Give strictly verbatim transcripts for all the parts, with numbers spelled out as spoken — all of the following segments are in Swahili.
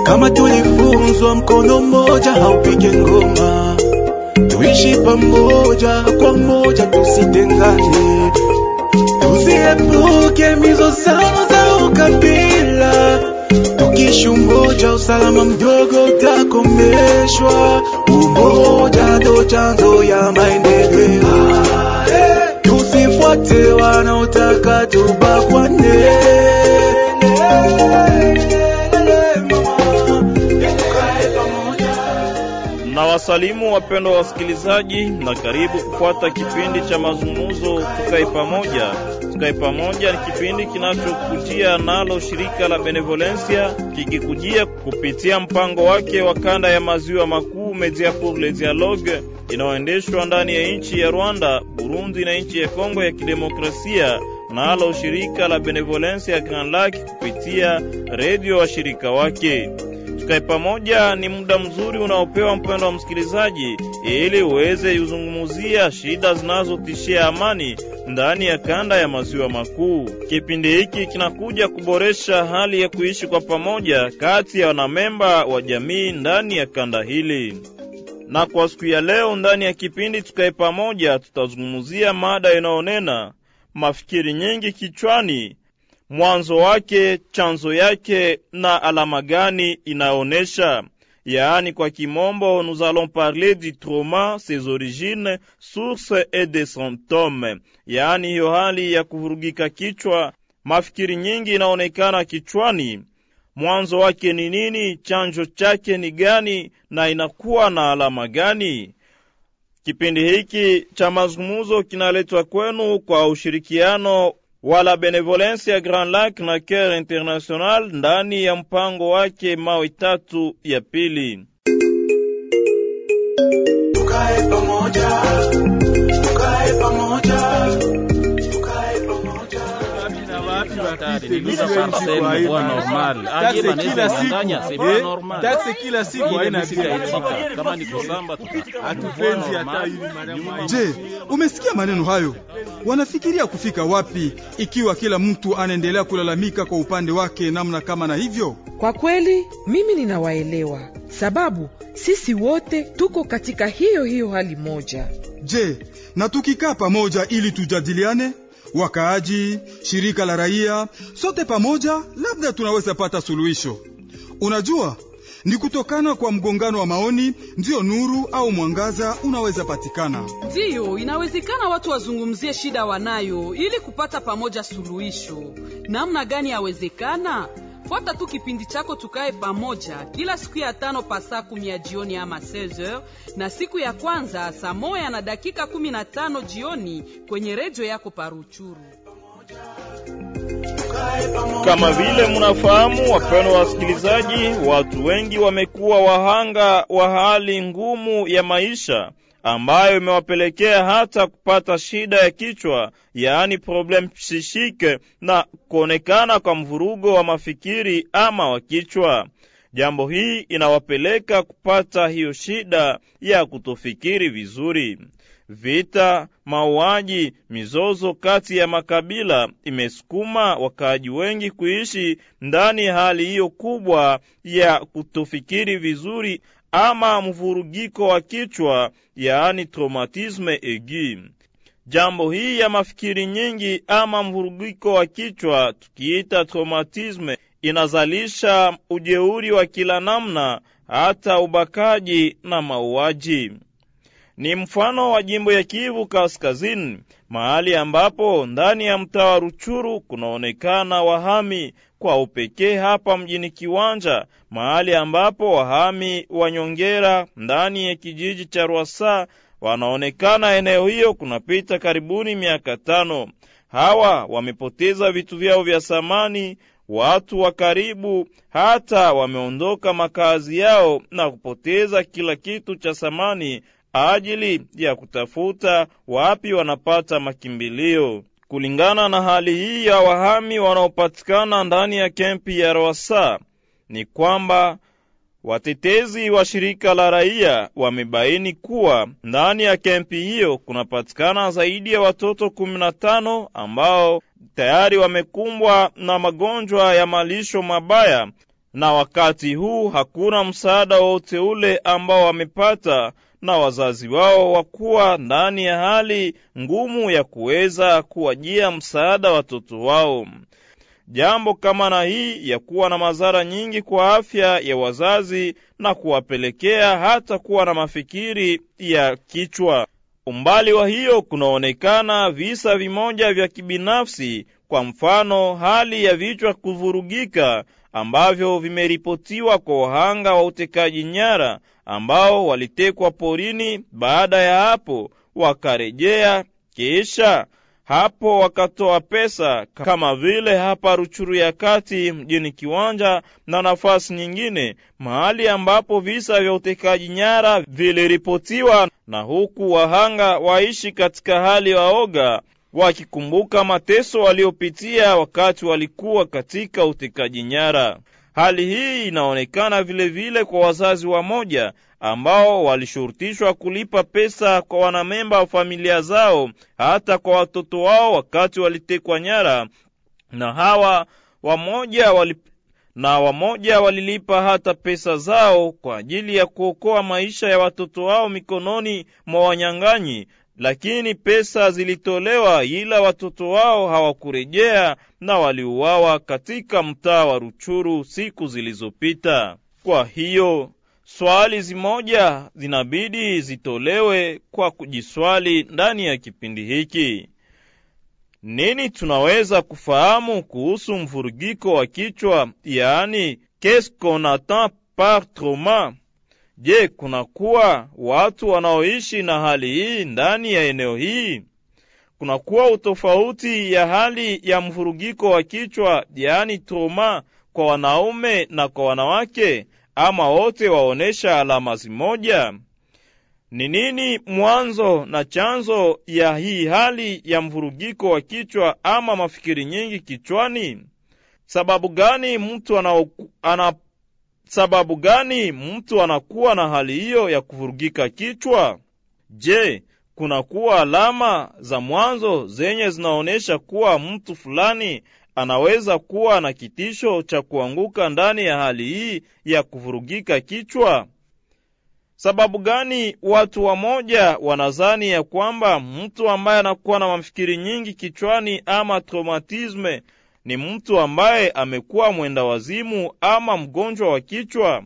Kama tulifunzwa mkono mmoja haupige ngoma, tuishi pamoja kwa moja tusitengane, tusiepuke mizozano za ukabila, tukiishi umoja usalama mdogo utakomeshwa, umoja ndo chanzo ya maendeleo, tusifuate wanaotaka tubakwane. Na wasalimu wapendwa wasikilizaji, na karibu kufuata kipindi cha mazungumzo Tukae Pamoja. Tukae Pamoja ni kipindi kinachokujia nalo shirika la Benevolencia, kikikujia kupitia mpango wake wa kanda ya maziwa makuu Media pour le Dialogue, inayoendeshwa ndani ya nchi ya Rwanda, Burundi na nchi ya Kongo ya Kidemokrasia, nalo shirika la Benevolencia Grand Lac kupitia redio wa shirika wake. Tukae Pamoja ni muda mzuri unaopewa mpendo wa msikilizaji ili uweze kuzungumzia shida zinazotishia amani ndani ya kanda ya maziwa makuu. Kipindi hiki kinakuja kuboresha hali ya kuishi kwa pamoja kati ya wanamemba wa jamii ndani ya kanda hili. Na kwa siku ya leo ndani ya kipindi Tukae Pamoja tutazungumzia mada inaonena mafikiri nyingi kichwani, mwanzo wake, chanzo yake na alama gani inaonesha. Yaani kwa kimombo, nous allons parler du trauma, ses origines, sources et des symptômes. Yaani hiyo hali ya kuvurugika kichwa, mafikiri nyingi inaonekana kichwani, mwanzo wake ni nini, chanzo chake ni gani na inakuwa na alama gani. Kipindi hiki cha mazungumzo kinaletwa kwenu kwa ushirikiano wala Benevolencia Grand Lac na Care International ndani ya mpango wake mawe tatu ya pili. Tukae pamoja, tukae pamoja, tukae pamoja. Niza parcelle kwa normal. Aje banaweza kudanganya sema normal. Taxi kila siku haina bila itika. Kama ni kusamba hatupenzi hata hivi madam. Je, umesikia maneno hayo? Wanafikiria kufika wapi ikiwa kila mtu anaendelea kulalamika kwa upande wake namna kama na hivyo? Kwa kweli mimi ninawaelewa, sababu sisi wote tuko katika hiyo hiyo hali moja. Je, na tukikaa pamoja ili tujadiliane, wakaaji, shirika la raia, sote pamoja labda tunaweza pata suluhisho. Unajua, ni kutokana kwa mgongano wa maoni ndio nuru au mwangaza unaweza patikana. Ndio, inawezekana watu wazungumzie shida wanayo ili kupata pamoja suluhisho. Namna gani yawezekana? Fuata tu kipindi chako Tukae Pamoja kila siku ya tano pasa kumi ya jioni ama seize heures, na siku ya kwanza saa moja na dakika kumi na tano jioni kwenye redio yako Paruchuru. Kama vile mnafahamu wapendwa wasikilizaji, watu wengi wamekuwa wahanga wa hali ngumu ya maisha ambayo imewapelekea hata kupata shida ya kichwa, yaani problem psychique, na kuonekana kwa mvurugo wa mafikiri ama wa kichwa. Jambo hii inawapeleka kupata hiyo shida ya kutofikiri vizuri. Vita, mauaji, mizozo kati ya makabila imesukuma wakaaji wengi kuishi ndani hali hiyo kubwa ya kutofikiri vizuri ama mvurugiko wa kichwa, yaani traumatisme aigu. Jambo hii ya mafikiri nyingi ama mvurugiko wa kichwa tukiita traumatisme inazalisha ujeuri wa kila namna, hata ubakaji na mauaji. Ni mfano wa jimbo ya Kivu Kaskazini, mahali ambapo ndani ya mtaa wa Ruchuru kunaonekana wahami kwa upekee hapa mjini Kiwanja, mahali ambapo wahami wanyongera ndani ya kijiji cha Rwasa wanaonekana. Eneo hiyo kunapita karibuni miaka tano. Hawa wamepoteza vitu vyao vya samani, watu wa karibu hata wameondoka makazi yao na kupoteza kila kitu cha samani ajili ya kutafuta wapi wanapata makimbilio. Kulingana na hali hii ya wahami wanaopatikana ndani ya kempi ya Rwasa, ni kwamba watetezi wa shirika la raia wamebaini kuwa ndani ya kempi hiyo kunapatikana zaidi ya watoto kumi na tano ambao tayari wamekumbwa na magonjwa ya malisho mabaya, na wakati huu hakuna msaada wote ule ambao wamepata na wazazi wao, wakuwa ndani ya hali ngumu ya kuweza kuwajia msaada watoto wao. Jambo kama na hii ya kuwa na madhara nyingi kwa afya ya wazazi na kuwapelekea hata kuwa na mafikiri ya kichwa. Umbali wa hiyo kunaonekana visa vimoja vya kibinafsi, kwa mfano hali ya vichwa kuvurugika ambavyo vimeripotiwa kwa wahanga wa utekaji nyara ambao walitekwa porini. Baada ya hapo wakarejea, kisha hapo wakatoa pesa, kama vile hapa Ruchuru ya Kati mjini Kiwanja na nafasi nyingine, mahali ambapo visa vya utekaji nyara viliripotiwa, na huku wahanga waishi katika hali waoga, wakikumbuka mateso waliopitia wakati walikuwa katika utekaji nyara. Hali hii inaonekana vile vile kwa wazazi wa moja ambao walishurutishwa kulipa pesa kwa wanamemba wa familia zao, hata kwa watoto wao wakati walitekwa nyara, na hawa wamoja wali na wamoja walilipa hata pesa zao kwa ajili ya kuokoa maisha ya watoto wao mikononi mwa wanyang'anyi. Lakini pesa zilitolewa ila watoto wao hawakurejea na waliuawa katika mtaa wa Ruchuru siku zilizopita. Kwa hiyo swali zimoja zinabidi zitolewe kwa kujiswali ndani ya kipindi hiki. Nini tunaweza kufahamu kuhusu mvurugiko wa kichwa, yaani qu'est-ce qu'on attend par trauma? Je, kunakuwa watu wanaoishi na hali hii ndani ya eneo hii? Kunakuwa utofauti ya hali ya mvurugiko wa kichwa, yaani trauma, kwa wanaume na kwa wanawake, ama wote waonesha alama zimoja? Ni nini mwanzo na chanzo ya hii hali ya mvurugiko wa kichwa ama mafikiri nyingi kichwani? Sababu gani mtu ana, ana sababu gani mtu anakuwa na hali hiyo ya kuvurugika kichwa? Je, kunakuwa alama za mwanzo zenye zinaonesha kuwa mtu fulani anaweza kuwa na kitisho cha kuanguka ndani ya hali hii ya kuvurugika kichwa? Sababu gani watu wamoja wanazani ya kwamba mtu ambaye anakuwa na mafikiri nyingi kichwani ama traumatisme ni mtu ambaye amekuwa mwenda wazimu ama mgonjwa wa kichwa?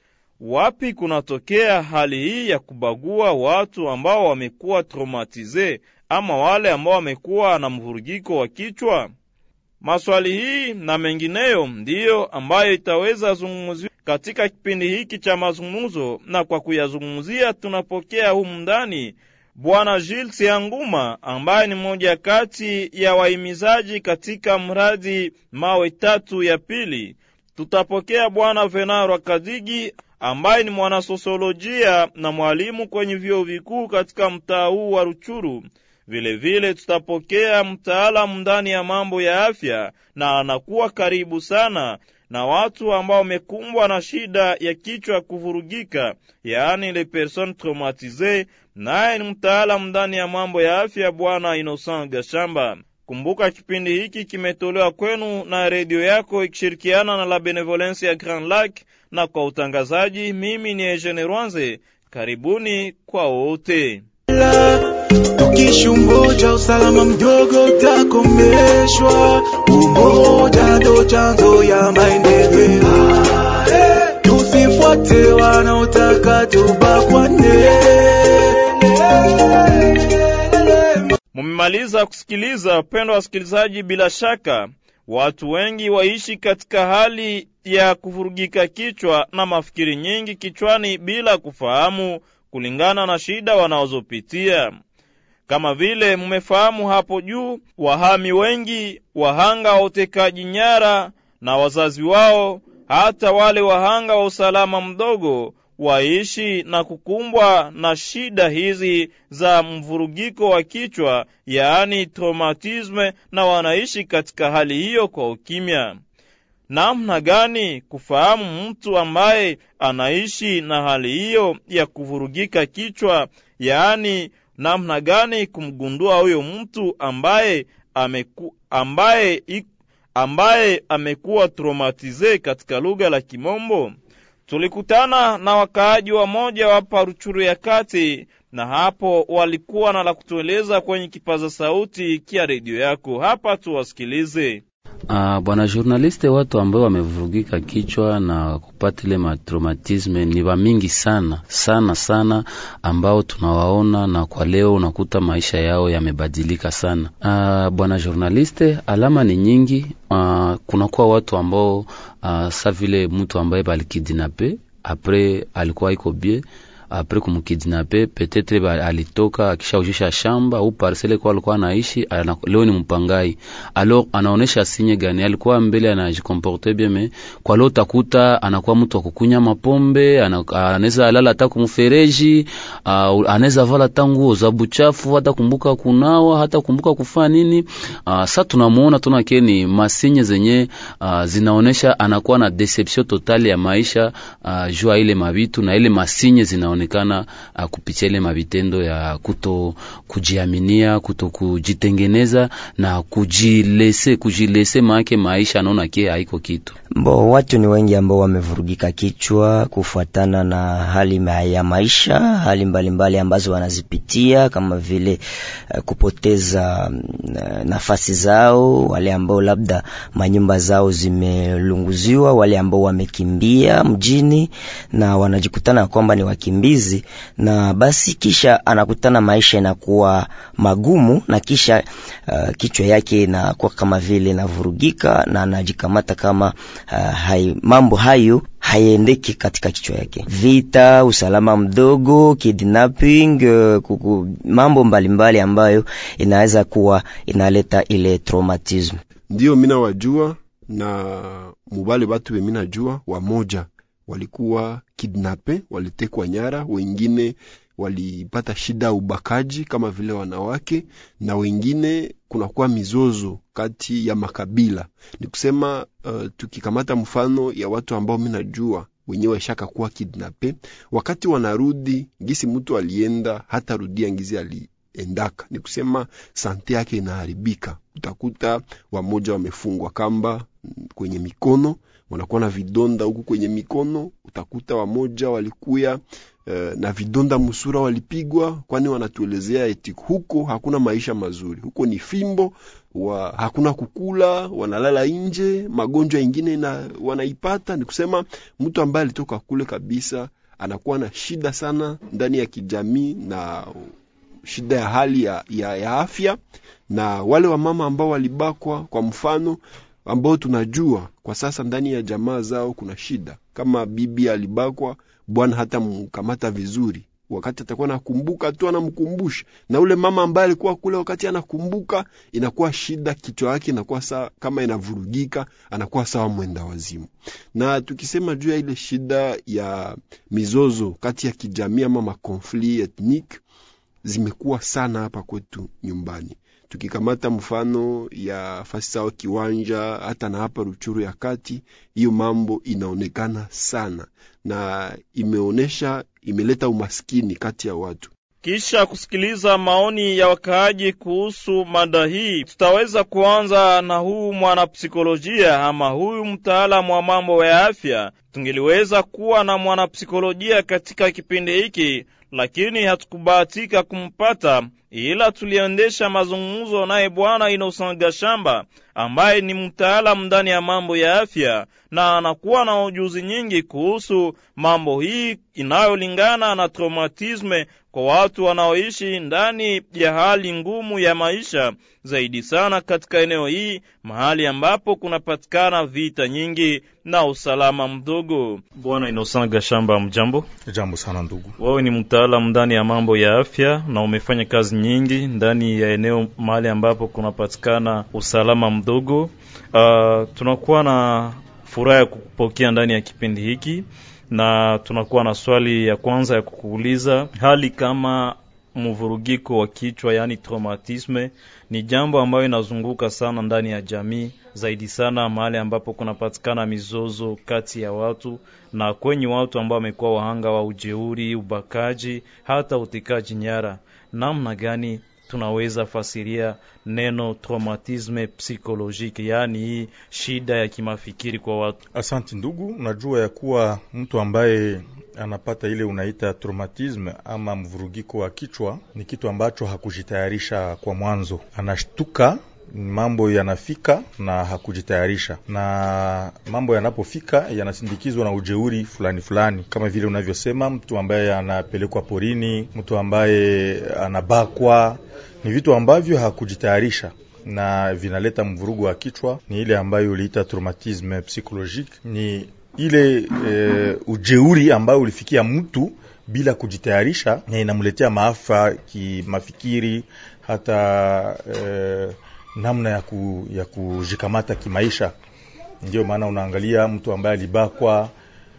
Wapi kunatokea hali hii ya kubagua watu ambao wamekuwa traumatize ama wale ambao wamekuwa na mvurugiko wa kichwa? Maswali hii na mengineyo ndiyo ambayo itaweza zungumziwa katika kipindi hiki cha mazungumzo, na kwa kuyazungumzia tunapokea humu ndani Bwana Jules Sianguma ambaye ni mmoja kati ya wahimizaji katika mradi mawe tatu ya pili. Tutapokea Bwana Venaro Kadigi ambaye ni mwanasosiolojia na mwalimu kwenye vyuo vikuu katika mtaa huu wa Ruchuru. Vile vile tutapokea mtaalamu ndani ya mambo ya afya, na anakuwa karibu sana na watu ambao wamekumbwa na shida ya kichwa kuvurugika, yaani les personnes traumatisées, naye ni mtaalamu ndani ya mambo ya afya, Bwana Innocent Gashamba. Kumbuka kipindi hiki kimetolewa kwenu na redio yako ikishirikiana na la Benevolence ya Grand Lac, na kwa utangazaji mimi ni Eugene Rwanze. Karibuni kwa wote. Tukishungoja usalama mdogo utakomeshwa, umoja ndo chanzo ya maendeleo. Tusifuate wanaotaka tubakwane. Mumemaliza kusikiliza, wapendwa wasikilizaji. Bila shaka watu wengi waishi katika hali ya kuvurugika kichwa na mafikiri nyingi kichwani bila kufahamu kulingana na shida wanazopitia. Kama vile mmefahamu hapo juu, wahami wengi, wahanga wa utekaji nyara na wazazi wao, hata wale wahanga wa usalama mdogo, waishi na kukumbwa na shida hizi za mvurugiko wa kichwa, yaani traumatisme, na wanaishi katika hali hiyo kwa ukimya. Namna gani kufahamu mtu ambaye anaishi na hali hiyo ya kuvurugika kichwa, yaani namna gani kumgundua huyo mtu ambaye ameku, ambaye ambaye amekuwa traumatize katika lugha la Kimombo. Tulikutana na wakaaji wa moja wa Paruchuru ya kati, na hapo walikuwa na la kutueleza kwenye kipaza sauti kia redio yako. Hapa tuwasikilize. Uh, bwana journaliste, watu ambao wamevurugika kichwa na kupata ile matraumatisme ni wa mingi sana sana sana, ambao tunawaona, na kwa leo unakuta maisha yao yamebadilika sana. Uh, bwana journaliste, alama ni nyingi. Uh, kuna kwa watu ambao uh, sa vile mtu ambaye balikidnape après alikuwa iko bien, après kumkidnape peut-être alitoka akishaujisha shamba au parcelle kwa alikuwa anaishi, leo ni mpangai. Alors anaonesha sinye gani? Alikuwa mbele anajikomporte bien, mais kwa leo takuta anakuwa mtu wa kukunya mapombe, anaweza alala hata kumfereji, anaweza vala tangu za buchafu, hata kumbuka kunawa, hata kumbuka kufanya nini. Sasa tunamuona tunake ni masinye zenye uh, zinaonesha anakuwa na deception totale ya maisha, uh, jua ile mabitu na ile masinye zinaonesha onekana uh, kupitia ile mavitendo ya kuto kujiaminia, kuto kujitengeneza na kujilese kujilese maake maisha anaona kie haiko kitu. Mbo, watu ni wengi ambao wamevurugika kichwa kufuatana na hali ya maisha, hali mbalimbali mbali ambazo wanazipitia, kama vile uh, kupoteza uh, nafasi zao, wale ambao labda manyumba zao zimelunguziwa, wale ambao wamekimbia mjini na wanajikutana kwamba ni wakimbizi, na basi kisha anakutana maisha inakuwa magumu, na kisha uh, kichwa yake inakuwa kama vile inavurugika na anajikamata kama uh, hai, mambo hayo haiendeki katika kichwa yake. Vita, usalama mdogo, kidnapping, uh, kuku, mambo mbalimbali mbali ambayo inaweza kuwa inaleta ile traumatism. Ndio mina wajua na mubale batu we mina jua wamoja walikuwa kidnape, walitekwa nyara, wengine walipata shida ubakaji kama vile wanawake, na wengine kunakuwa mizozo kati ya makabila. Ni kusema uh, tukikamata mfano ya watu ambao mimi najua wenyewe shaka kuwa kidnape, wakati wanarudi ngisi mtu alienda hata rudia ngizi aliendaka, ni kusema sante yake inaharibika. Utakuta wamoja wamefungwa kamba kwenye mikono, wanakuwa na vidonda huku kwenye mikono. Utakuta wamoja walikuya uh, na vidonda musura, walipigwa, kwani wanatuelezea eti huko hakuna maisha mazuri, huko ni fimbo wa, hakuna kukula, wanalala nje, magonjwa ingine na wanaipata. Ni kusema mtu ambaye alitoka kule kabisa anakuwa na shida sana ndani ya kijamii na shida ya hali ya, ya, ya afya. Na wale wa mama ambao walibakwa kwa mfano, ambao tunajua kwa sasa ndani ya jamaa zao kuna shida, kama bibi alibakwa, bwana hata mkamata vizuri, wakati atakuwa nakumbuka tu anamkumbusha, na ule mama ambaye alikuwa kule wakati anakumbuka inakuwa shida, kichwa yake inakuwa saa kama inavurugika, anakuwa sawa mwenda wazimu. Na tukisema juu ya ile shida ya mizozo kati ya kijamii ama makonfli ethnique zimekuwa sana hapa kwetu nyumbani. Tukikamata mfano ya fasi sawa Kiwanja, hata na hapa Ruchuru ya kati, hiyo mambo inaonekana sana na imeonesha, imeleta umaskini kati ya watu. Kisha kusikiliza maoni ya wakaaji kuhusu mada hii, tutaweza kuanza na huu mwanapsikolojia ama huyu mtaalamu wa mambo ya afya. Tungeliweza kuwa na mwanapsikolojia katika kipindi hiki, lakini hatukubahatika kumpata, ila tuliendesha mazungumzo naye bwana Innocent Gashamba ambaye ni mtaalamu ndani ya mambo ya afya na anakuwa na ujuzi nyingi kuhusu mambo hii inayolingana na traumatisme kwa watu wanaoishi ndani ya hali ngumu ya maisha, zaidi sana katika eneo hii mahali ambapo kunapatikana vita nyingi na usalama mdogo. Bwana Innocent Gashamba, mjambo. Jambo sana ndugu. Wewe ni mtaalamu ndani ya mambo ya afya na umefanya kazi nyingi ndani ya eneo mahali ambapo kunapatikana usalama mdogo. Uh, tunakuwa na furaha ya kukupokea ndani ya kipindi hiki, na tunakuwa na swali ya kwanza ya kukuuliza. Hali kama mvurugiko wa kichwa, yani traumatisme, ni jambo ambayo inazunguka sana ndani ya jamii, zaidi sana mahali ambapo kunapatikana mizozo kati ya watu na kwenye watu ambao wamekuwa wahanga wa ujeuri, ubakaji, hata utekaji nyara. Namna gani tunaweza fasiria neno traumatisme psychologique, yani hii shida ya kimafikiri kwa watu? Asante ndugu, unajua ya kuwa mtu ambaye anapata ile unaita traumatisme ama mvurugiko wa kichwa ni kitu ambacho hakujitayarisha kwa mwanzo, anashtuka mambo yanafika na hakujitayarisha, na mambo yanapofika yanasindikizwa na ujeuri fulani fulani, kama vile unavyosema, mtu ambaye anapelekwa porini, mtu ambaye anabakwa, ni vitu ambavyo hakujitayarisha na vinaleta mvurugo wa kichwa. Ni ile ambayo uliita traumatisme psychologique, ni ile e, ujeuri ambayo ulifikia mtu bila kujitayarisha na inamletea maafa kimafikiri, hata e, namna ya, ku, ya kujikamata kimaisha. Ndio maana unaangalia mtu ambaye alibakwa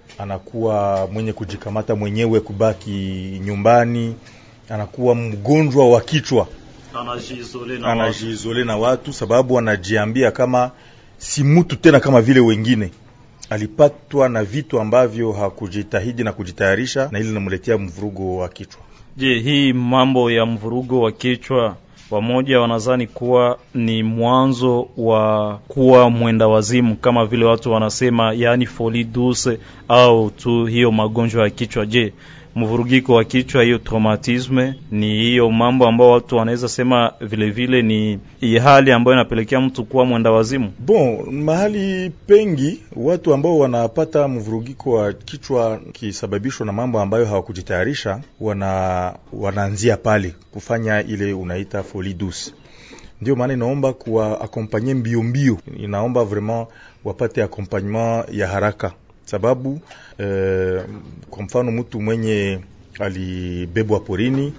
anakuwa mwenye kujikamata mwenyewe, kubaki nyumbani, anakuwa mgonjwa wa kichwa, anajizole na, anajizole na watu, sababu anajiambia kama si mtu tena kama vile wengine. Alipatwa na vitu ambavyo hakujitahidi na kujitayarisha, na ile linamletea mvurugo wa kichwa. Je, hii mambo ya mvurugo wa kichwa wamoja wanazani kuwa ni mwanzo wa kuwa mwenda wazimu kama vile watu wanasema, yani folie douce, au tu hiyo magonjwa ya kichwa? Je, mvurugiko wa kichwa, hiyo traumatisme, ni hiyo mambo ambayo watu wanaweza sema vile vile ni hali ambayo inapelekea mtu kuwa mwenda wazimu? Bon, mahali pengi watu ambao wanapata mvurugiko wa kichwa kisababishwa na mambo ambayo hawakujitayarisha, wana wanaanzia pale kufanya ile unaita folie douce. Ndio maana inaomba kuwa accompagner mbio mbio, inaomba vraiment wapate accompagnement ya haraka, sababu eh, kwa mfano mtu mwenye alibebwa porini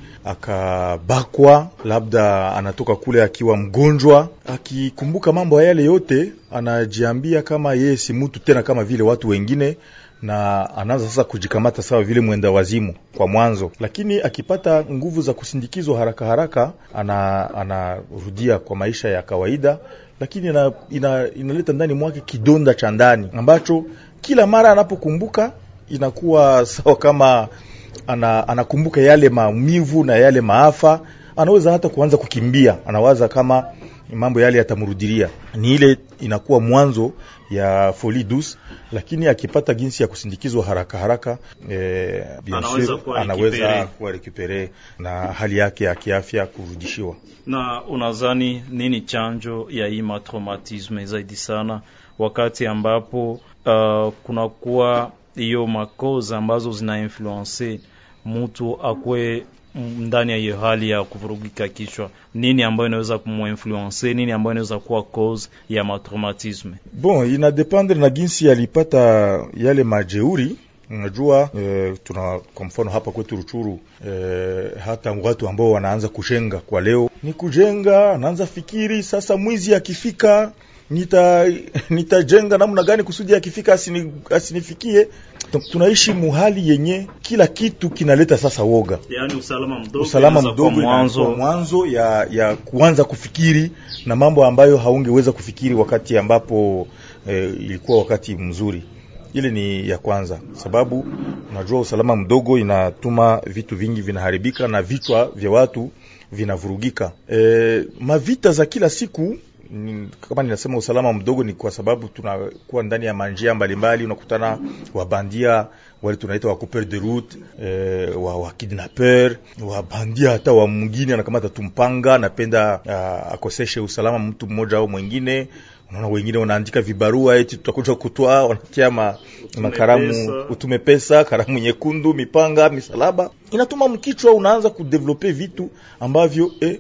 akabakwa, labda anatoka kule akiwa mgonjwa, akikumbuka mambo yale yote anajiambia kama yeye si mtu tena kama vile watu wengine, na anaanza sasa kujikamata sawa vile mwenda wazimu kwa mwanzo. Lakini akipata nguvu za kusindikizwa haraka haraka, ana anarudia kwa maisha ya kawaida, lakini ina, ina, inaleta ndani mwake kidonda cha ndani ambacho kila mara anapokumbuka inakuwa sawa kama ana, anakumbuka yale maumivu na yale maafa. Anaweza hata kuanza kukimbia, anawaza kama mambo yale yatamrudilia. Ni ile inakuwa mwanzo ya folie douce, lakini akipata jinsi ya kusindikizwa haraka haraka eh, anaweza kuwa anaweza kuwa recupere na hali yake ya kiafya kurudishiwa. Na unazani nini chanjo ya hii traumatisme zaidi sana wakati ambapo uh, kuna kuwa hiyo makoza ambazo zina influence mtu akwe ndani ya hiyo hali ya kuvurugika kichwa? Nini ambayo inaweza kumuinfluence, nini ambayo inaweza kuwa cause ya matraumatisme? Bon, ina dependre na jinsi alipata yale majeuri. Unajua e, tuna kwa mfano hapa kwetu Ruchuru e, hata watu ambao wanaanza kujenga kwa leo, ni kujenga, anaanza fikiri sasa mwizi akifika nita nitajenga namna gani kusudi akifika asini, asinifikie. Tunaishi muhali yenye kila kitu kinaleta sasa woga, yani usalama mdogo, usalama mdogo mwanzo mwanzo ya ya kuanza kufikiri na mambo ambayo haungeweza kufikiri wakati ambapo e, ilikuwa wakati mzuri. Ile ni ya kwanza, sababu unajua usalama mdogo inatuma vitu vingi vinaharibika na vichwa vya watu vinavurugika. E, mavita za kila siku, kama ninasema usalama mdogo, ni kwa sababu tunakuwa ndani ya manjia mbalimbali, unakutana wabandia wale tunaita wa couper de route, eh, wa, wa kidnapper, wa bandia hata wa mwingine anakamata tumpanga, napenda uh, akoseshe usalama mtu mmoja au mwingine. Unaona wengine wanaandika vibarua eti tutakuja kutoa, wanatia ma, makaramu utume pesa, karamu nyekundu, mipanga, misalaba. Inatuma mkichwa unaanza kudevelope vitu ambavyo eh,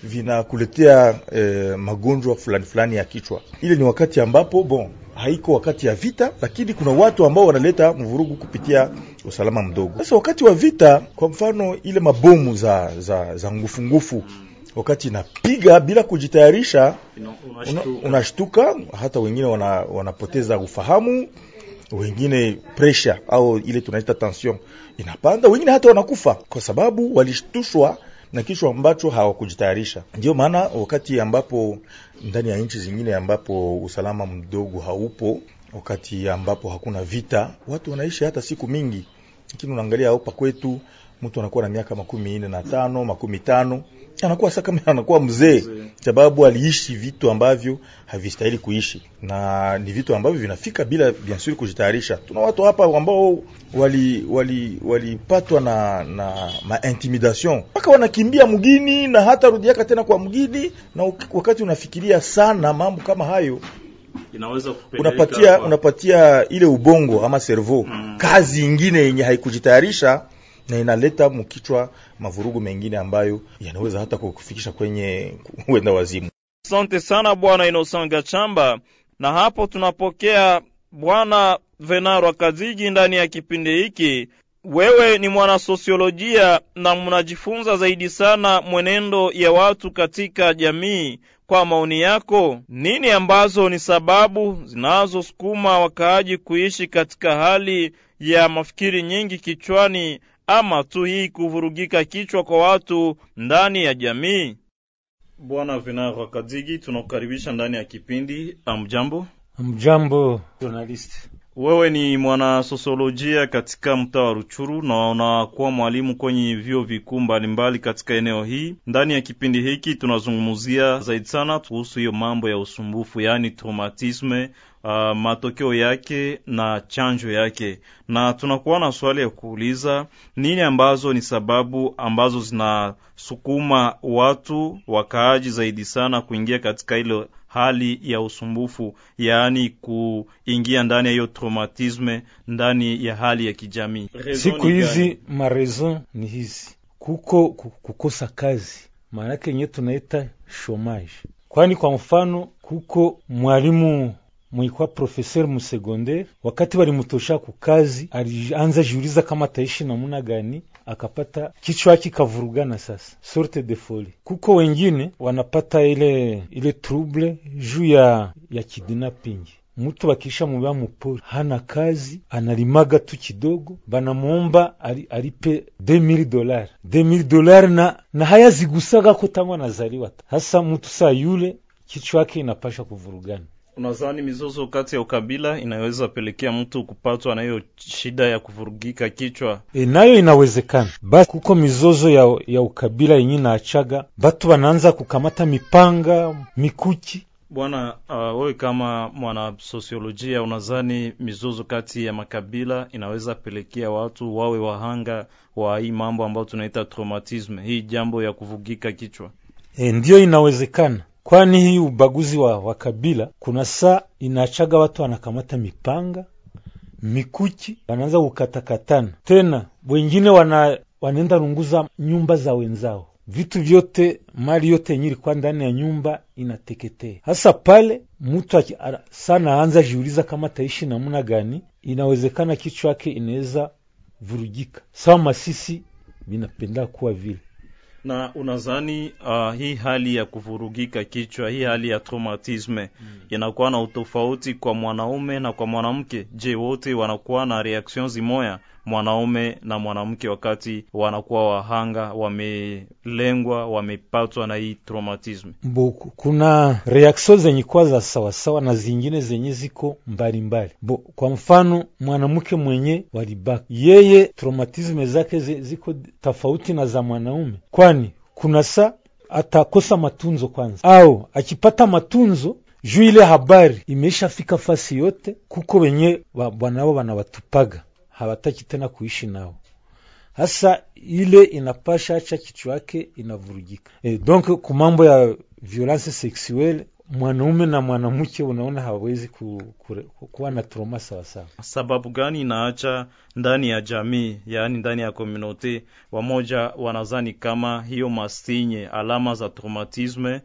vinakuletea eh, magonjwa fulani fulani ya kichwa. Ile ni wakati ambapo bon, haiko wakati ya vita, lakini kuna watu ambao wanaleta mvurugu kupitia usalama mdogo. Sasa wakati wa vita, kwa mfano ile mabomu za za, za ngufu ngufu, wakati inapiga bila kujitayarisha, unashtuka, una hata wengine wana, wanapoteza ufahamu, wengine pressure au ile tunaita tension inapanda, wengine hata wanakufa kwa sababu walishtushwa na kichwa ambacho hawakujitayarisha. Ndio maana wakati ambapo ndani ya nchi zingine ambapo usalama mdogo haupo, wakati ambapo hakuna vita, watu wanaishi hata siku mingi. Lakini unaangalia hapa kwetu mtu anakuwa na miaka makumi nne na tano, makumi tano, anakuwa sasa kama anakuwa mzee, sababu aliishi vitu ambavyo havistahili kuishi, na ni vitu ambavyo vinafika bila bien sûr kujitayarisha. Tuna watu hapa ambao wali wali walipatwa na na ma intimidation mpaka wanakimbia mgini na hata rudiaka tena kwa mgini, na wakati unafikiria sana mambo kama hayo inaweza kupeleka unapatia unapatia ile ubongo ama cerveau mm. kazi nyingine yenye haikujitayarisha, na inaleta mkichwa mavurugu mengine ambayo yanaweza hata kukufikisha kwenye uenda wazimu. Asante sana Bwana Innocent Gachamba, na hapo tunapokea Bwana Venaro Kazigi ndani ya kipindi hiki. Wewe ni mwana sosiolojia na mnajifunza zaidi sana mwenendo ya watu katika jamii. Kwa maoni yako, nini ambazo ni sababu zinazosukuma wakaaji kuishi katika hali ya mafikiri nyingi kichwani, ama tu hii kuvurugika kichwa kwa watu ndani ya jamii? Bwana Venaro Kazigi, tunakukaribisha ndani ya kipindi. Amjambo. Amjambo journalist. Wewe ni mwana sosiolojia katika mtaa wa Ruchuru na unakuwa mwalimu kwenye vyuo vikuu mbalimbali katika eneo hii. Ndani ya kipindi hiki tunazungumzia zaidi sana kuhusu hiyo mambo ya usumbufu, yani traumatisme, uh, matokeo yake na chanjo yake. Na tunakuwa na swali ya kuuliza, nini ambazo ni sababu ambazo zinasukuma watu wakaaji zaidi sana kuingia katika ile hali ya usumbufu, yaani kuingia ndani ya hiyo traumatisme, ndani ya hali ya kijamii? Siku hizi marezo ni hizi: kuko kukosa kazi, maana yake yenyewe tunaita chômage. Kwani kwa mfano kuko mwalimu mwikuwa professeur mu secondaire, wakati walimutosha ku kazi alianza jiuliza kama taishi namuna gani, akapata kichwa kikavurugana. Sasa sorte de folie. Kuko wengine wanapata ile ile trouble juu ya ya kidnapping. Mtu bakisha mubya mupori, hana kazi, analimaga tu kidogo, banamuomba ali, alipe deux mille dollars deux mille dollars na na haya zigusaga ko tangwa nazaliwa. Hasa mtu saa yule kichwa yake inapasha kuvurugana. Unadhani mizozo kati ya ukabila inaweza pelekea mtu kupatwa na hiyo shida ya kuvurugika kichwa? E, nayo inawezekana. Basi kuko mizozo ya, ya ukabila yenye naachaga batu wanaanza kukamata mipanga, mikuki. Bwana, uh, wewe kama mwana sosiolojia unadhani mizozo kati ya makabila inaweza pelekea watu wawe wahanga wa hii mambo ambayo tunaita traumatisme, hii jambo ya kuvugika kichwa? E, ndio inawezekana. Kwani hii ubaguzi wa, wa kabila kuna saa inachaga watu wanakamata mipanga, mikuki, wanaanza kukatakatana. Tena wengine wana wanaenda runguza nyumba za wenzao. Vitu vyote, mali yote yenye ilikuwa ndani ya nyumba inateketea. Hasa pale mtu sana anza jiuliza kama taishi namna gani, inawezekana kichwa yake inaweza vurugika. Sawa Masisi binapenda kuwa vile. Na unazani uh, hii hali ya kuvurugika kichwa, hii hali ya traumatisme mm. inakuwa na utofauti kwa mwanaume na kwa mwanamke? Je, wote wanakuwa na reactions zimoya, mwanaume na mwanamke, wakati wanakuwa wahanga, wamelengwa, wamepatwa na hii traumatisme? Boku kuna reactions zenye kwa za sawa sawa na zingine zenye ziko mbali mbali. Bo, kwa mfano mwanamke mwenye walibaka, yeye traumatisme zake ziko tofauti na za mwanaume. Kwani kuna saa atakosa matunzo kwanza, au akipata matunzo juu ile habari imeshafika fasi yote, kuko wenye bwanao wanawatupaga, hawataki tena kuishi nao. Hasa ile inapasha acha kichwa yake inavurugika. E, donc kumambo ya violence sexuelle, mwanaume na mwanamke unaona hawezi ku, ku, ku, kuwa na trauma sawa sawa. Sababu gani inaacha ndani ya jamii, yaani ndani ya community, wamoja wanazani kama hiyo mastinye alama za traumatisme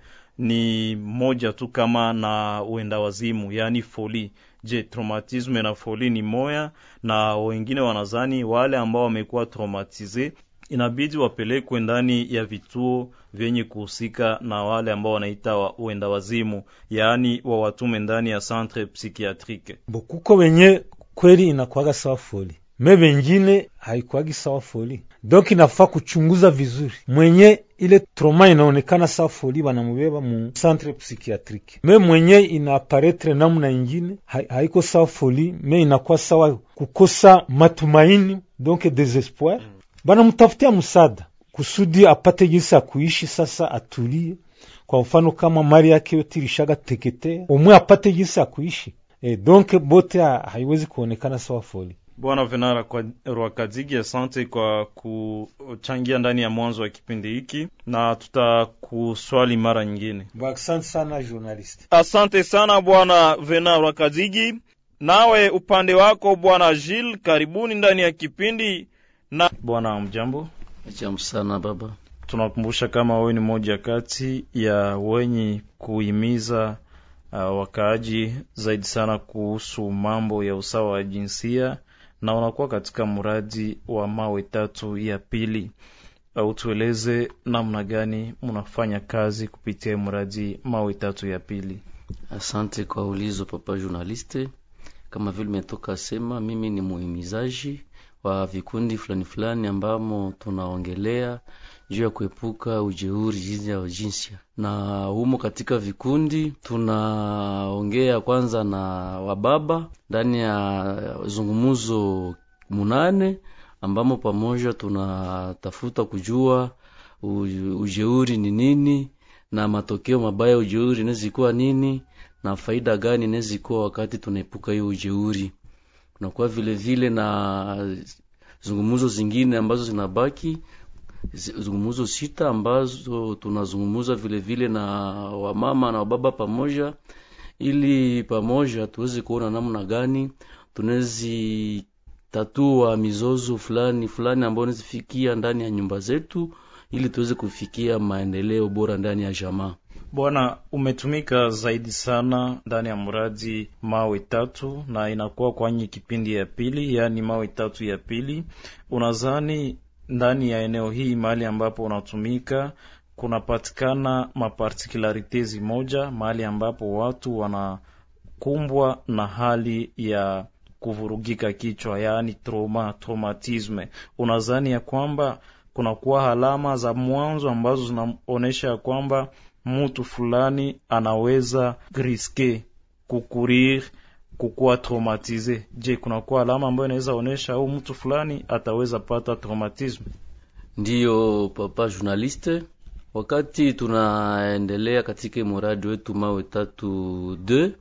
ni moja tu kama na uenda wazimu, yani folie? Je, traumatisme na folie ni moya? Na wengine wanazani wale ambao wamekuwa traumatize inabidi wapelekwe ndani ya vituo vyenye kuhusika na wale ambao wanaita wa uenda wazimu, yaani wa watume ndani ya centre psychiatrique. Bokuko wenye kweli inakuwaga sawa folie, me wengine haikuwagi sawa folie. Donc inafaa kuchunguza vizuri. Mwenye ile trauma inaonekana sawa folie wanamubeba mu centre psychiatrique, me mwenye inaaparetre namna ingine haiko sawa folie, me inakuwa sawa kukosa matumaini, donc desespoir. bana mtafutia msaada kusudi apate jinsi ya kuishi sasa, atulie. Kwa mfano kama mali yake yote ilishaga teketea, umwe apate jinsi ya kuishi. E, donc bote haiwezi kuonekana sawa foli. Bwana Venara kwa Rwakazigi, asante kwa kuchangia ndani ya mwanzo wa kipindi hiki, na tutakuswali mara nyingine. Asante sana journalist. Asante sana Bwana Venara Rwakazigi. Nawe upande wako Bwana Gilles, karibuni ndani ya kipindi. Na Bwana mjambo. Jambo sana baba. Tunakumbusha kama wewe ni moja kati ya wenye kuhimiza uh, wakaaji zaidi sana kuhusu mambo ya usawa wa jinsia, na unakuwa katika mradi wa mawe tatu ya pili. Uh, tueleze namna gani mnafanya kazi kupitia mradi mawe tatu ya pili. Asante kwa ulizo papa journaliste. Kama vile umetoka sema, mimi ni muhimizaji wa vikundi fulani fulani ambamo tunaongelea juu ya kuepuka ujeuri jinsi ya jinsia. Na humo katika vikundi tunaongea kwanza na wababa ndani ya zungumuzo munane, ambamo pamoja tunatafuta kujua ujeuri ni nini na matokeo mabaya ujeuri inaweza nini na faida gani inaweza kuwa wakati tunaepuka hiyo ujeuri. Na kwa vile vile na zungumuzo zingine ambazo zinabaki, zungumuzo sita ambazo tunazungumuza vile vile na wamama na wababa pamoja, ili pamoja tuweze kuona namna gani tunaweza tatua mizozo fulani fulani ambayo inazifikia ndani ya nyumba zetu, ili tuweze kufikia maendeleo bora ndani ya jamaa. Bwana, umetumika zaidi sana ndani ya mradi mawe tatu na inakuwa kwenye kipindi ya pili, yani mawe tatu ya pili. Unazani ndani ya eneo hii mahali ambapo unatumika kunapatikana mapartikularite moja, mahali ambapo watu wanakumbwa na hali ya kuvurugika kichwa, yani trauma, traumatisme. Unazani ya kwamba kunakuwa alama za mwanzo ambazo zinaonesha ya kwamba mtu fulani anaweza riske kukurir kukuwa traumatize? Je, kunakuwa alama ambayo inaweza onesha au mtu fulani ataweza pata traumatisme? Ndiyo papa journaliste, wakati tunaendelea katika mradi wetu mawe tatu deux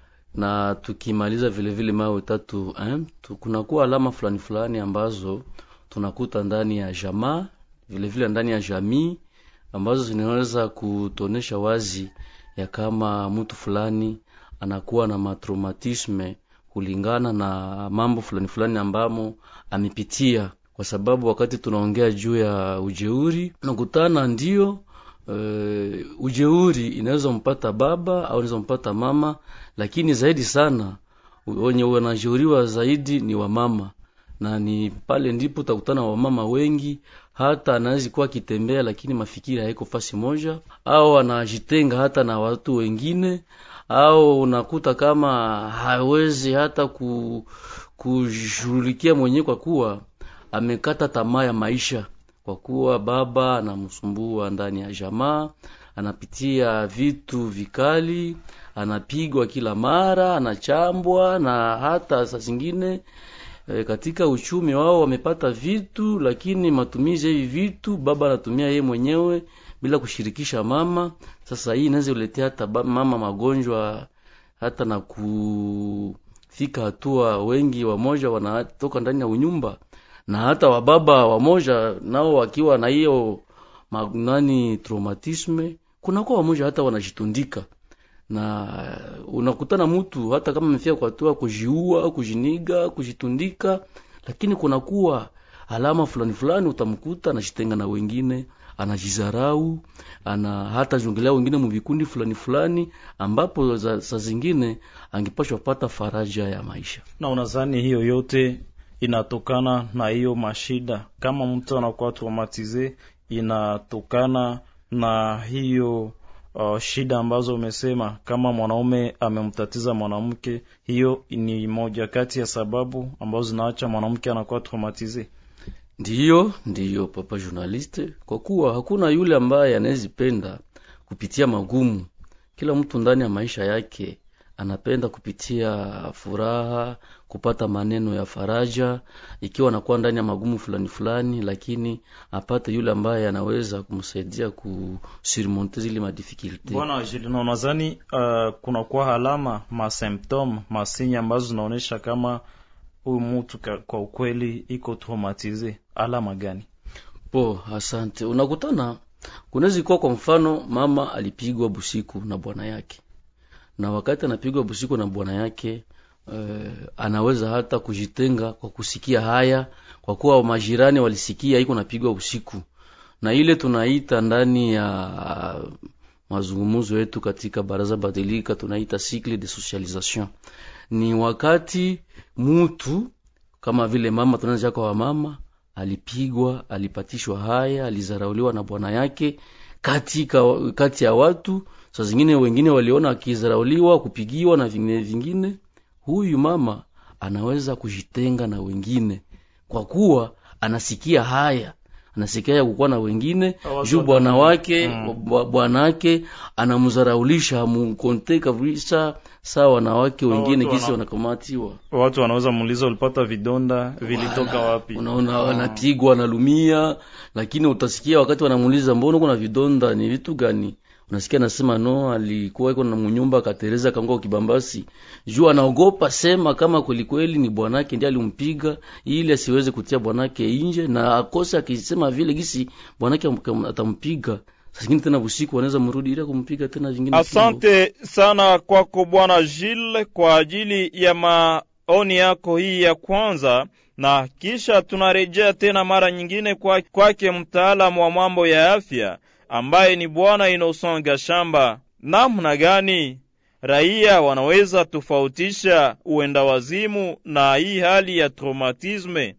na tukimaliza vile vile mawe tatu un, kunakuwa alama fulani fulani ambazo tunakuta ndani ya jamaa, vile vile ndani ya jamii, ambazo zinaweza kutonesha wazi ya kama mtu fulani anakuwa na matraumatisme kulingana na mambo fulani fulani ambamo amepitia. Kwa sababu wakati tunaongea juu ya ujeuri, nakutana ndio e, ujeuri inaweza mpata baba au inaweza mpata mama, lakini zaidi sana wenye wanajeuriwa zaidi ni wamama. Na ni pale ndipo utakutana wamama wengi, hata anaweza kuwa kitembea lakini mafikiri haiko fasi moja, au anajitenga hata na watu wengine, au unakuta kama hawezi hata ku kushughulikia mwenyewe kwa kuwa amekata tamaa ya maisha, kwa kuwa baba anamsumbua ndani ya jamaa, anapitia vitu vikali, anapigwa kila mara, anachambwa, na hata saa zingine E, katika uchumi wao wamepata vitu, lakini matumizi hivi vitu baba anatumia yeye mwenyewe bila kushirikisha mama. Sasa hii inaweza kuletea hata mama magonjwa, hata na kufika hatua wengi wamoja wanatoka ndani ya unyumba, na hata wababa wamoja nao wakiwa na hiyo magnani traumatisme, kuna kwa wamoja hata wanajitundika. Na unakutana mtu hata kama amefia kwa hatua kujiua, kujiniga, kujitundika, lakini kuna kuwa alama fulani fulani utamkuta anajitenga na wengine, anajizarau, ana hata jungelea wengine mvikundi fulani fulani ambapo za, za zingine angepashwa pata faraja ya maisha. Na unadhani hiyo yote inatokana na hiyo mashida, kama mtu anakuwa traumatize, inatokana na hiyo Uh, shida ambazo umesema, kama mwanaume amemtatiza mwanamke, hiyo ni moja kati ya sababu ambazo zinaacha mwanamke anakuwa traumatize? Ndiyo, ndiyo papa journaliste, kwa kuwa hakuna yule ambaye anawezipenda kupitia magumu. Kila mtu ndani ya maisha yake anapenda kupitia furaha kupata maneno ya faraja, ikiwa anakuwa ndani ya magumu fulani fulani, lakini apate yule ambaye anaweza kumsaidia kusurmonter zile madifficulté. Bwana Jilino, nadhani uh, kuna kwa alama ma symptom masinya ambazo zinaonesha kama huyu mtu kwa ukweli iko traumatize. Alama gani? Po, asante. Unakutana kunaweza kuwa kwa mfano mama alipigwa busiku na bwana yake, na wakati anapigwa busiku na bwana yake Uh, anaweza hata kujitenga kwa kusikia haya, kwa kuwa majirani walisikia iko napigwa usiku, na ile tunaita ndani ya uh, mazungumzo yetu katika baraza badilika tunaita cycle de socialisation. Ni wakati mtu kama vile mama tunaanza kwa mama alipigwa, alipatishwa haya, alizarauliwa na bwana yake katika kati ya watu, saa zingine wengine waliona akizarauliwa, kupigiwa na vingine vingine. Huyu mama anaweza kujitenga na wengine kwa kuwa anasikia haya, anasikia kukuwa na wengine juu bwana wake mm. bwana wake anamzaraulisha, mkonte kabisa sawa wanawake wengine kisi wanakamatiwa. Watu wanaweza muuliza ulipata vidonda vilitoka wapi? Unaona wanapigwa na lumia, lakini utasikia wakati wanamuuliza mbona kuna vidonda ni vitu gani, unasikia nasema no, alikuwa iko na mnyumba katereza kango kibambasi. Juu anaogopa sema kama kweli kweli ni bwanake ndiye alimpiga ili asiweze kutia bwanake nje, na akosa akisema vile gisi bwanake atampiga. Sasa tena usiku wanaweza mrudi ile kumpiga tena vingine. Asante sana kwako Bwana Gilles kwa ajili ya maoni yako hii ya kwanza, na kisha tunarejea tena mara nyingine kwa kwake mtaalamu wa mambo ya afya ambaye ni Bwana Innocent Gashamba. Namna gani raia wanaweza tofautisha uenda wazimu na hii hali ya traumatisme?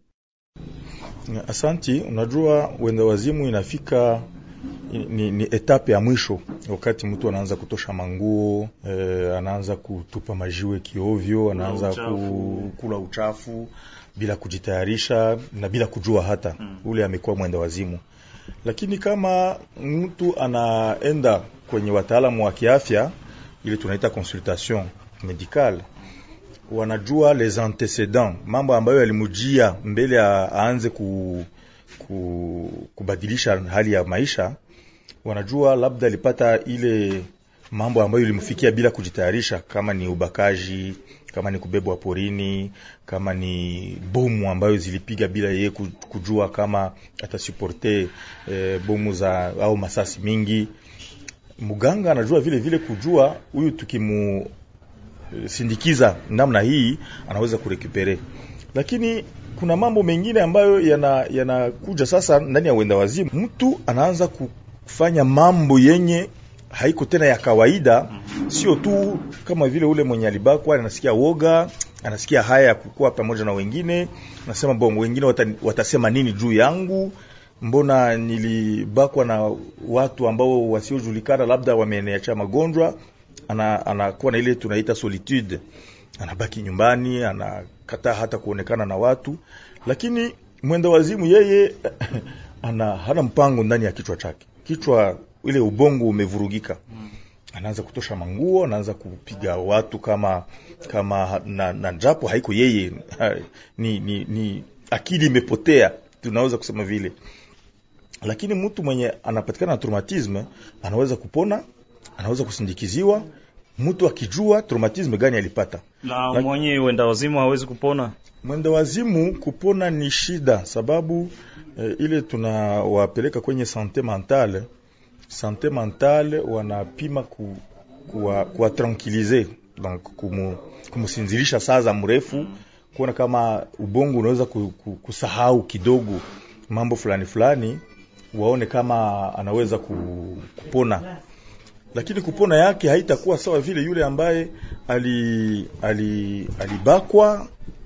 Asanti. Unajua uenda wazimu inafika ni, ni etape ya mwisho, wakati mtu anaanza kutosha manguo, e, anaanza kutupa majiwe kiovyo, anaanza ku, kula uchafu bila kujitayarisha na bila kujua hata hmm. ule amekuwa mwenda wazimu. Lakini kama mtu anaenda kwenye wataalamu wa kiafya, ile tunaita consultation médicale, wanajua les antécédents, mambo ambayo yalimujia mbele aanze ku, ku, kubadilisha hali ya maisha. Wanajua labda alipata ile mambo ambayo ilimfikia bila kujitayarisha, kama ni ubakaji, kama ni kubebwa porini, kama ni bomu ambayo zilipiga bila yeye kujua kama atasuporte e, bomu za au masasi mingi. Muganga anajua vile vile kujua huyu tukimu sindikiza namna hii anaweza kurekupere. Lakini kuna mambo mengine ambayo yana yanakuja sasa ndani ya wenda wazimu. Mtu anaanza kufanya mambo yenye haiko tena ya kawaida, sio tu kama vile ule mwenye alibakwa anasikia woga, anasikia haya ya kukua pamoja na wengine, anasema bongo wengine wata, watasema nini juu yangu, mbona nilibakwa na watu ambao wasiojulikana, labda wameniacha magonjwa. Ana anakuwa na ile tunaita solitude, anabaki nyumbani, anakataa hata kuonekana na watu. Lakini mwenda wazimu yeye ana hana mpango ndani ya kichwa chake, kichwa ile ubongo umevurugika. Anaanza kutosha manguo, anaanza kupiga watu kama kama na, na japo haiko yeye ni, ni ni akili imepotea, tunaweza kusema vile. Lakini mtu mwenye anapatikana na traumatisme anaweza kupona, anaweza kusindikiziwa, mtu akijua traumatisme gani alipata. Na Laki, mwenye wenda wazimu hawezi kupona. Mwenda wazimu kupona ni shida, sababu eh, ile tunawapeleka kwenye sante mentale. Sante mentale wanapima ku kuwa, kuwa tranquiliser, donc kumu, kumusinzilisha saa za mrefu, kuona kama ubongo unaweza kusahau kidogo mambo fulani fulani, waone kama anaweza kupona. Lakini kupona yake haitakuwa sawa vile yule ambaye ali ali alibakwa.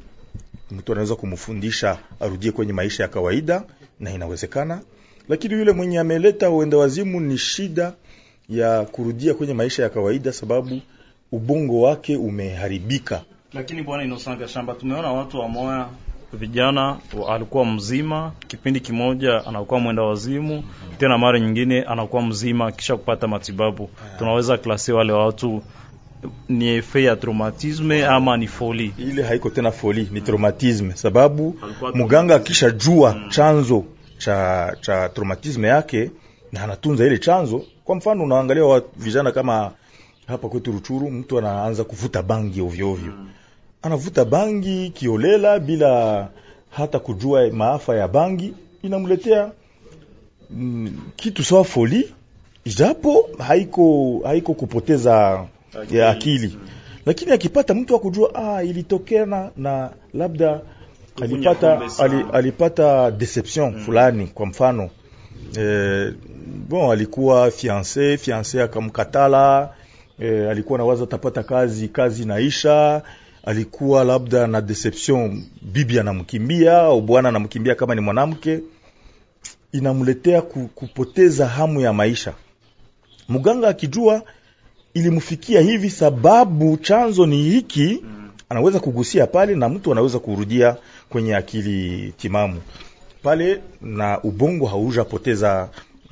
Mtu anaweza kumfundisha arudie kwenye maisha ya kawaida, na inawezekana. Lakini yule mwenye ameleta uenda wazimu ni shida ya kurudia kwenye maisha ya kawaida, sababu ubongo wake umeharibika. Lakini Bwana Innocent Gashamba, tumeona watu wa moya vijana alikuwa mzima, kipindi kimoja anakuwa mwenda wazimu, tena mara nyingine anakuwa mzima kisha kupata matibabu. Tunaweza klasi wale watu ni efe ya traumatisme ama ni foli? Ile haiko tena foli, ni traumatisme, sababu muganga akisha jua chanzo cha cha traumatisme yake na anatunza ile chanzo. Kwa mfano unaangalia wa vijana kama hapa kwetu Ruchuru, mtu anaanza kuvuta bangi ovyo ovyo, anavuta bangi kiolela bila hata kujua maafa ya bangi, inamletea mm, kitu sawa foli, ijapo haiko haiko kupoteza akili, ya akili. Lakini akipata mtu akujua ah ilitokea na, na labda alipata ali, alipata deception fulani, kwa mfano eh, bon alikuwa fiancé fiancé akamkatala, eh, alikuwa nawaza tapata kazi kazi naisha, alikuwa labda na deception, bibi anamkimbia au bwana anamkimbia kama ni mwanamke, inamletea kupoteza hamu ya maisha. Muganga akijua ilimfikia hivi sababu chanzo ni hiki, anaweza kugusia pale na mtu anaweza kurudia kwenye akili timamu pale na ubongo haujapoteza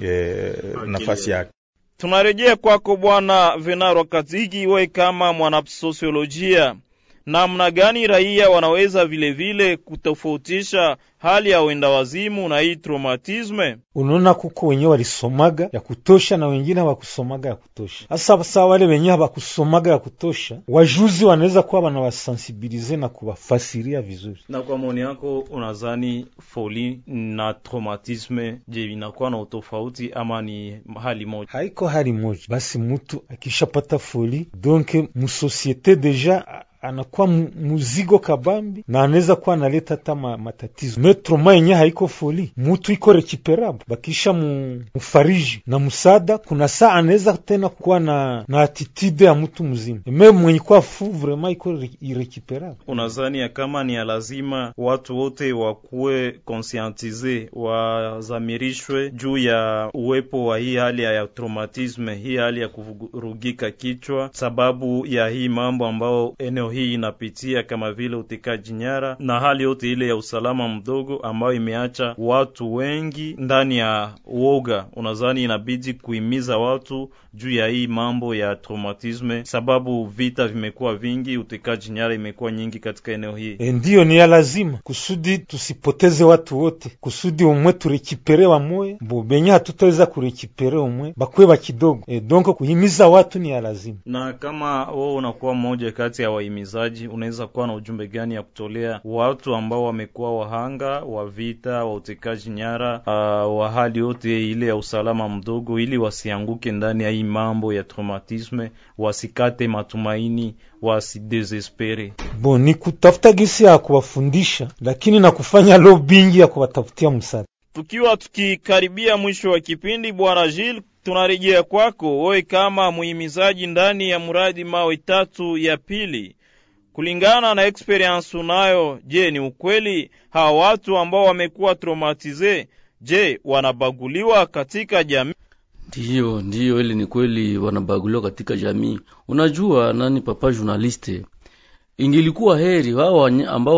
e, nafasi yake. Tunarejea kwako Bwana Venaro Katigi, wewe kama mwanasosiolojia, namna gani raia wanaweza vile vile kutofautisha hali ya wenda wazimu na hii traumatisme? Unaona kuko wenyewe walisomaga ya kutosha na wengine hawakusomaga ya kutosha. Hasa sawa wale wenyewe hawakusomaga ya kutosha, wajuzi wanaweza kuwa wanawasensibilize na kuwafasiria vizuri. Na kwa maoni yako unadhani foli na traumatisme je, inakuwa na utofauti ama ni hali moja? Haiko hali moja. Basi mtu akishapata foli, donc mu societe deja anakuwa muzigo kabambi na anaweza kuwa analeta hata matatizo. Metroma yenye haiko foli, mutu iko recuperable, bakisha mu, mufariji na musada, kuna saa anaweza tena kuwa na na attitude ya mtu mzima. Meme mwenye kwa fu vraiment iko irrecuperable. Unazani ya kama ni ya lazima watu wote wakuwe conscientize, wazamirishwe juu ya uwepo wa hii hali ya traumatisme, hii hali ya kuvurugika kichwa sababu ya hii mambo ambao eneo hii inapitia, kama vile utekaji nyara na hali yote ile ya usalama mdogo ambayo imeacha watu wengi ndani ya uoga. Unadhani inabidi kuhimiza watu juu ya hii mambo ya traumatisme sababu vita vimekuwa vingi, utekaji nyara imekuwa nyingi katika eneo hii? E, ndiyo ni ya lazima kusudi tusipoteze watu wote, kusudi umwe turekipere wa moye bo benye hatutaweza kurekipere umwe bakwe ba kidogo. E, donc kuhimiza watu ni ya lazima. Na kama wewe unakuwa mmoja kati ya wahimizaji, unaweza kuwa na ujumbe gani ya kutolea watu ambao wamekuwa wahanga wa vita, wa utekaji nyara, uh, wa hali yote ile ya usalama mdogo, ili wasianguke ndani ya hii mambo ya traumatisme, wasikate matumaini, wasidesespere? Bon, ni kutafuta gisi ya kuwafundisha, lakini na kufanya lobbying ya kuwatafutia msaada. Tukiwa tukikaribia mwisho wa kipindi, Bwana Gilles, tunarejea kwako wewe kama muhimizaji ndani ya muradi mawe tatu ya pili. Kulingana na experience unayo, je, ni ukweli hawa watu ambao wamekuwa traumatize, je, wanabaguliwa katika jamii? Ndiyo, ndiyo, ile ni kweli wanabaguliwa katika jamii. Unajua nani, papa journaliste, ingilikuwa heri hao ambao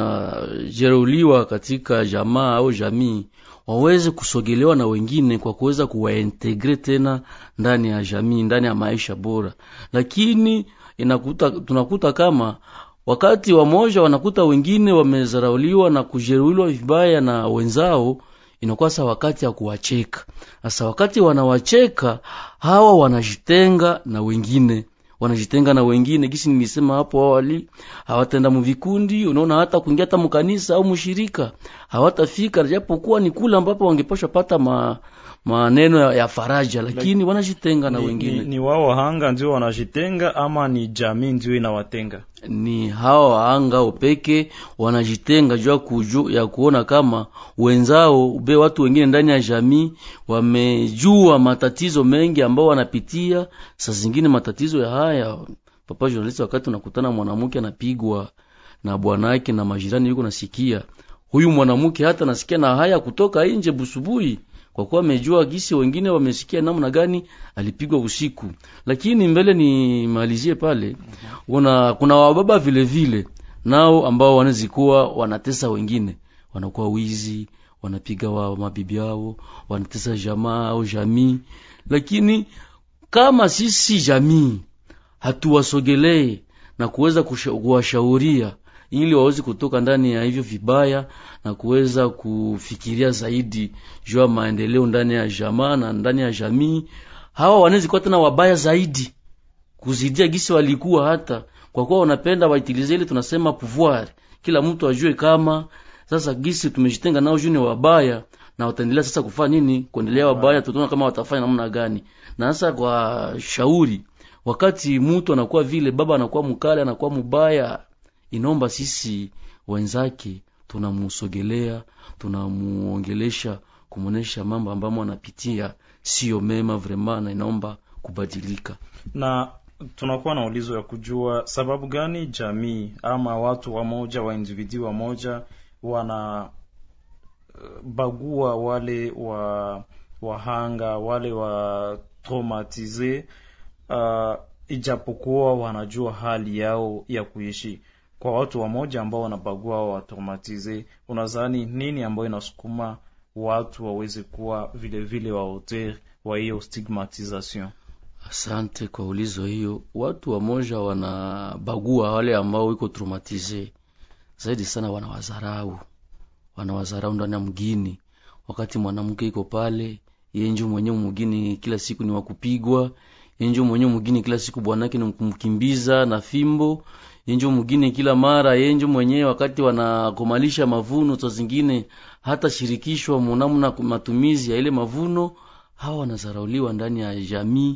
wanajeruhiwa katika jamaa au jamii waweze kusogelewa na wengine kwa kuweza kuwaintegre tena ndani ya jamii, ndani ya maisha bora. Lakini inakuta tunakuta kama wakati wamoja wanakuta wengine wamezarauliwa na kujeruhiwa vibaya na wenzao, inakuwa sa wakati ya kuwacheka. Sasa wakati wanawacheka hawa wanajitenga na wengine, wanajitenga na wengine gisi nilisema hapo awali, hawatenda mvikundi, unaona hata kuingia hata mkanisa au mshirika hawatafika, japokuwa ni kula ambapo wangepasha pata ma maneno ya, ya faraja, lakini wanajitenga na ni, wengine. Ni, ni wao wahanga ndio wanajitenga ama ni jamii ndio inawatenga? Ni hao wahanga upeke wanajitenga jua kuju ya kuona kama wenzao ube watu wengine ndani ya jamii wamejua matatizo mengi ambao wanapitia. Saa zingine matatizo ya haya, papa journalist, wakati unakutana mwanamke anapigwa na bwanake na majirani yuko nasikia, huyu mwanamke hata nasikia na haya kutoka nje busubui, kwa kuwa amejua gisi wengine wamesikia namna gani alipigwa usiku. Lakini mbele ni malizie pale, kuna kuna wababa vile vile nao ambao wanazikuwa wanatesa wengine, wanakuwa wizi, wanapiga wa mabibi yao, wanatesa jamaa au jamii. Lakini kama sisi jamii hatuwasogelee na kuweza kuwashauria ili waweze kutoka ndani ya hivyo vibaya na kuweza kufikiria zaidi juu ya maendeleo ndani ya jamaa na ndani ya jamii, hawa wanaweza kuwa tena wabaya zaidi kuzidia gisi walikuwa, hata kwa kuwa wanapenda waitilize ile tunasema pouvoir. Kila mtu ajue kama sasa gisi tumejitenga nao juu ni wabaya, na wataendelea sasa kufanya nini? Kuendelea wabaya, tutaona kama watafanya namna gani. Na sasa kwa shauri, wakati mtu anakuwa vile baba anakuwa mkali, anakuwa mbaya, inomba sisi wenzake tunamusogelea, tunamuongelesha, kumuonesha mambo ambayo anapitia sio mema vraiment, na inaomba kubadilika. Na tunakuwa na ulizo ya kujua sababu gani jamii ama watu wa moja wa individu wa moja wana uh, bagua wale wa wahanga, wale wa traumatize, uh, ijapokuwa wanajua hali yao ya kuishi. Kwa watu wa moja ambao wanabagua wa traumatize, unadhani nini ambayo inasukuma watu waweze kuwa vile vile wa auteur wa hiyo stigmatisation? Asante kwa ulizo hiyo. Watu wa moja wanabagua wale ambao wiko traumatize zaidi sana, wanawazarau wanawazarau ndani ya mgini. Wakati mwanamke iko pale, yeye ndio mwenyewe mgini kila siku ni wakupigwa, yeye ndio mwenyewe mgini kila siku bwanake ni kumkimbiza na fimbo, yeye ndio mgini kila mara, yeye ndio mwenyewe wakati wanakomalisha mavuno to zingine hata shirikishwa mnamna matumizi ya ile mavuno. Hawa wanazarauliwa ndani ya jamii,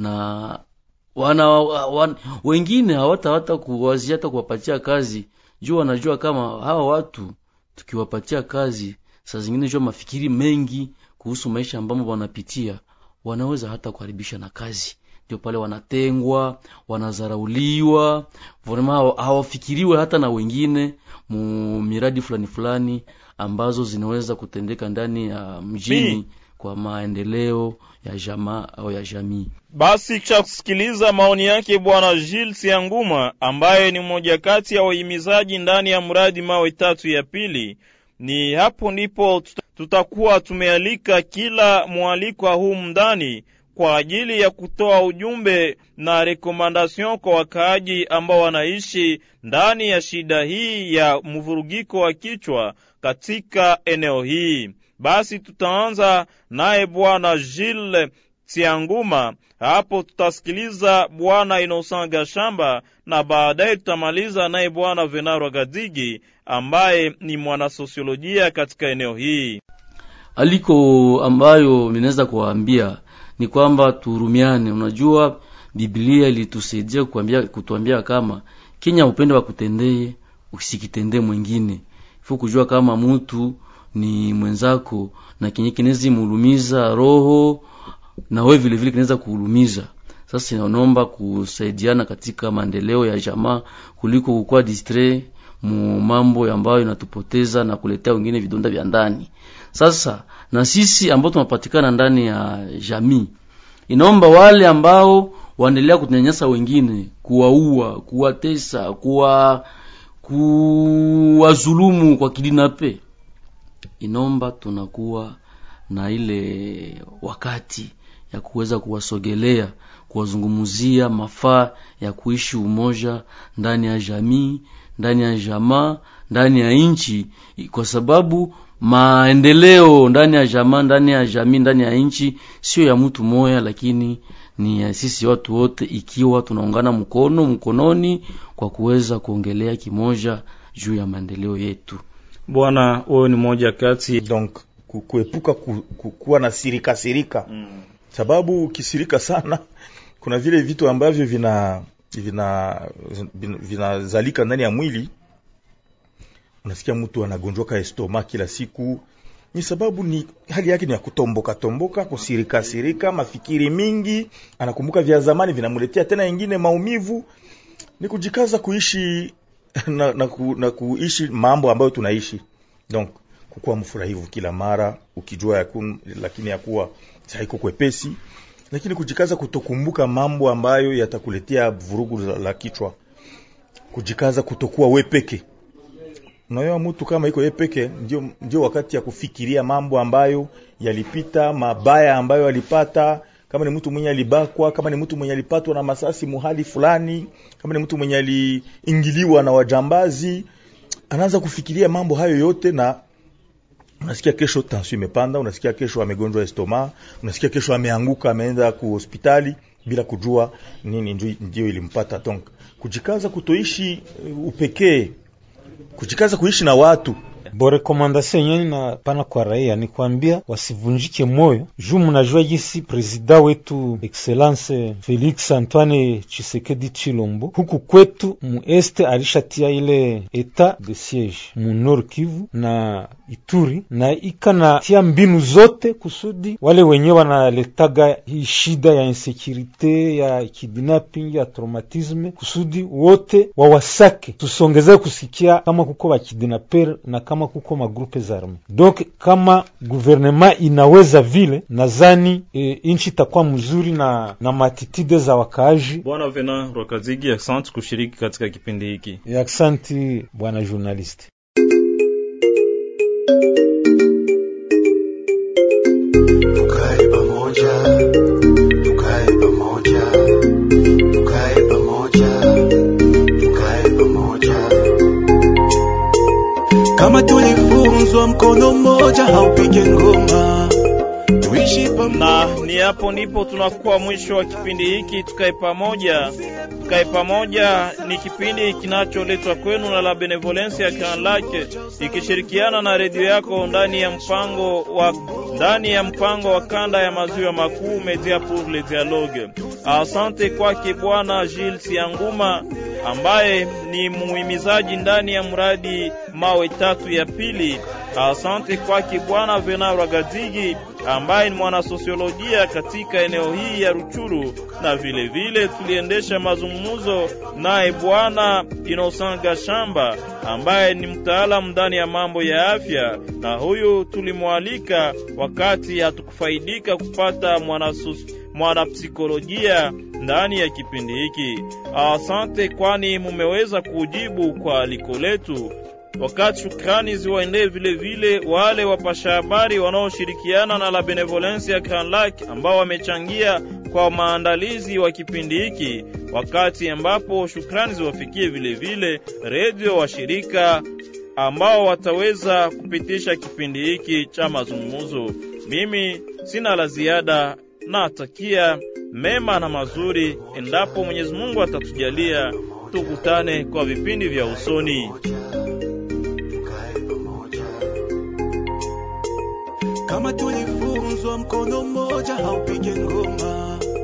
na wana, wana wengine hawata hata kuwazia hata kuwapatia kazi juu wanajua kama hawa watu tukiwapatia kazi saa zingine jua mafikiri mengi kuhusu maisha ambamo wanapitia, wanaweza hata kuharibisha na kazi. Ndio pale wanatengwa, wanazarauliwa, vraiment hawafikiriwe hata na wengine mu miradi fulani fulani ambazo zinaweza kutendeka ndani ya mjini Mi. kwa maendeleo ya jamaa au ya jamii. Basi kisha kusikiliza maoni yake Bwana Gilles Tsianguma, ambaye ni mmoja kati ya wahimizaji ndani ya mradi mawe tatu ya pili, ni hapo ndipo tutakuwa tumealika kila mwaliko huu mndani kwa ajili ya kutoa ujumbe na rekomandasyon kwa wakaaji ambao wanaishi ndani ya shida hii ya mvurugiko wa kichwa katika eneo hii. Basi tutaanza naye Bwana Gilles Tsianguma, hapo tutasikiliza Bwana Innocent Gashamba, na baadaye tutamaliza naye Bwana Venaro Gadigi ambaye ni mwana sosiolojia katika eneo hii. Aliko ambayo ninaweza kuwaambia ni kwamba tuhurumiane. Unajua Biblia ilitusaidia kuambia kutuambia kama Kenya upende wa kutendee usikitendee mwingine. Ifo kujua kama mtu ni mwenzako na kenye kinezi mulumiza roho na wewe vile vile kinaweza kuulumiza. Sasa inaomba kusaidiana katika maendeleo ya jamaa kuliko kukua distrait mu mambo ambayo inatupoteza na kuletea wengine vidonda vya ndani. Sasa na sisi ambao tunapatikana ndani ya jamii, inaomba wale ambao waendelea kunyanyasa wengine, kuwaua, kuwatesa, kuwa kuwazulumu kwa kidinape, inomba tunakuwa na ile wakati ya kuweza kuwasogelea, kuwazungumzia mafaa ya kuishi umoja ndani ya jamii, ndani ya jamaa, ndani ya nchi, kwa sababu maendeleo ndani ya jamaa, ndani ya jamii, ndani ya nchi sio ya mtu moja, lakini ni ya sisi watu wote, ikiwa tunaungana mkono mkononi kwa kuweza kuongelea kimoja juu ya maendeleo yetu. Bwana, wewe ni moja kati donc kuepuka kuwa na sirika sirika mm. Sababu kisirika sana kuna vile vitu ambavyo vina vina vinazalika ndani ya mwili. Unasikia mtu anagonjoka estoma kila siku, ni sababu ni hali yake ni ya kutomboka tomboka, kusirika sirika, mafikiri mingi, anakumbuka vya zamani vinamletea tena nyingine maumivu. Ni kujikaza kuishi na, na, ku, na kuishi mambo ambayo tunaishi. Donc kukuwa mfurahivu kila mara ukijua ya kun, lakini ya kuwa haiko kwepesi, lakini kujikaza kutokumbuka mambo ambayo yatakuletea vurugu la, la kichwa. Kujikaza kutokuwa wewe peke. Unaona mtu kama iko yeye peke, ndio ndio wakati ya kufikiria mambo ambayo yalipita, mabaya ambayo alipata kama ni mtu mwenye alibakwa, kama ni mtu mwenye alipatwa na masasi muhali fulani, kama ni mtu mwenye aliingiliwa na wajambazi, anaanza kufikiria mambo hayo yote, na unasikia kesho tension imepanda, unasikia kesho amegonjwa estoma, unasikia kesho ameanguka ameenda ku hospitali bila kujua nini ndio ilimpata. Donc kujikaza kutoishi upekee, kujikaza kuishi na watu. Bo rekomandasyon yenye na pana kwa raia ni kuambia wasivunjike moyo. Juu mnajua jinsi presida wetu Excellence Felix Antoine Tshisekedi Tshilombo huku kwetu mueste alishatia ile etat de siege mu Nord Kivu na Ituri, na ikana tia mbinu zote kusudi wale wenye wanaletaga hii shida ya insecurite, ya kidnapping, ya traumatisme, kusudi wote wawasake. Tusongeze kusikia kama kuko wa kidnapper na kama kuko magrupe za arme. Donc kama gouvernement inaweza vile, nadhani e, inchi itakuwa mzuri na na matitide za wakaaji. Bwana Venant Rwakazigi, asante kushiriki katika kipindi hiki. Asante bwana journalist. Tukae pamoja, tukae pamoja, tukae pamoja, tukae pamoja. Kama tulifunzwa mkono mmoja haupige ngoma, tuishi pamoja. Na ni hapo ndipo tunakuwa mwisho wa kipindi hiki tukae pamoja. Tukae pamoja ni kipindi kinacholetwa kwenu na la Benevolence ya Grand Lake ikishirikiana na redio yako ndani ya mpango wa ndani ya mpango wa kanda ya maziwa makuu Media pour le Dialogue. Asante kwake bwana Gilles Sianguma ambaye ni muhimizaji ndani ya mradi mawe tatu ya pili. Asante kwake bwana Venant Rwakazigi ambaye ni mwana sosiolojia katika eneo hii ya Ruchuru, na vile vile tuliendesha mazungumzo naye bwana Innocent Gashamba ambaye ni mtaalamu ndani ya mambo ya afya, na huyu tulimwalika wakati hatukufaidika kupata mwana mwana psikolojia ndani ya kipindi hiki. Asante kwani mumeweza kujibu kwa aliko letu. Wakati shukrani ziwaendee vile vile wale wapasha habari wanaoshirikiana na la Benevolence ya Grand Lake ambao wamechangia kwa maandalizi wa kipindi hiki, wakati ambapo shukrani ziwafikie vile vile redio wa shirika ambao wataweza kupitisha kipindi hiki cha mazungumzo. Mimi sina la ziada, na atakia mema na mazuri endapo Mwenyezi Mungu atatujalia tukutane kwa vipindi vya usoni. Kama tulifunzwa mkono mmoja haupige ngoma,